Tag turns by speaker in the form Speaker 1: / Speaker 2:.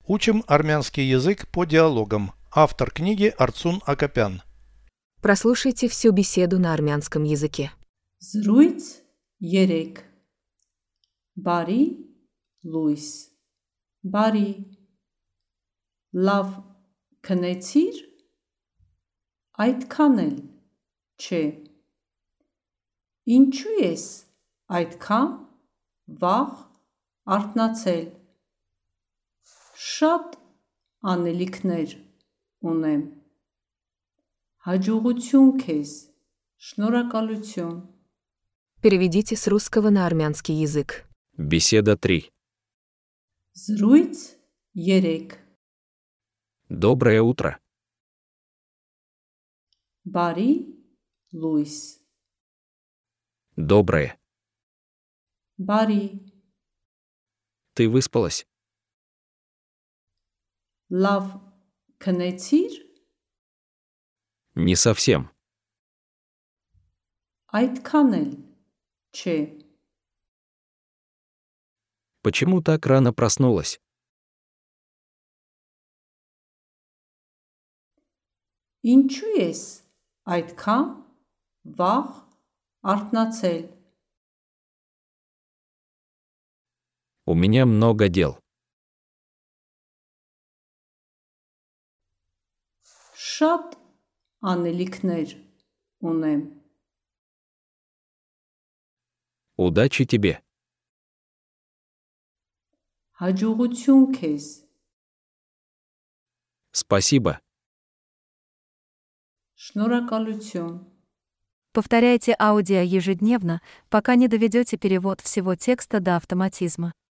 Speaker 1: Учим армянский язык по диалогам. Автор книги Арцун Акопян.
Speaker 2: Прослушайте всю беседу на армянском языке.
Speaker 3: Զրույց 3 Բարի լույս Բարի Լավ քնեցիր Այդքան էլ չէ Ինչու ես այդքան վաղ արթնացել Շատ անելիքներ ունեմ Հաջողություն քեզ Շնորհակալություն
Speaker 2: Переведите с русского на армянский язык.
Speaker 4: Беседа 3.
Speaker 3: Զրույց 3
Speaker 4: Доброе утро.
Speaker 3: Բարի լույս
Speaker 4: Доброе.
Speaker 3: Բարի
Speaker 4: Ты выспалась?
Speaker 3: Լավ քնեցիր
Speaker 4: Не совсем.
Speaker 3: Այդքան էլ չէ
Speaker 4: Почему так рано проснулась?
Speaker 3: Ինչու ես այդքան վաղ արթնացել
Speaker 4: У меня много дел.
Speaker 3: Շատ անելիքներ ունեմ
Speaker 4: Удачи тебе.
Speaker 3: Հաջողություն քեզ
Speaker 4: Спасибо.
Speaker 3: Շնորհակալություն
Speaker 5: Повторяйте аудио ежедневно, пока не доведете перевод всего текста до автоматизма.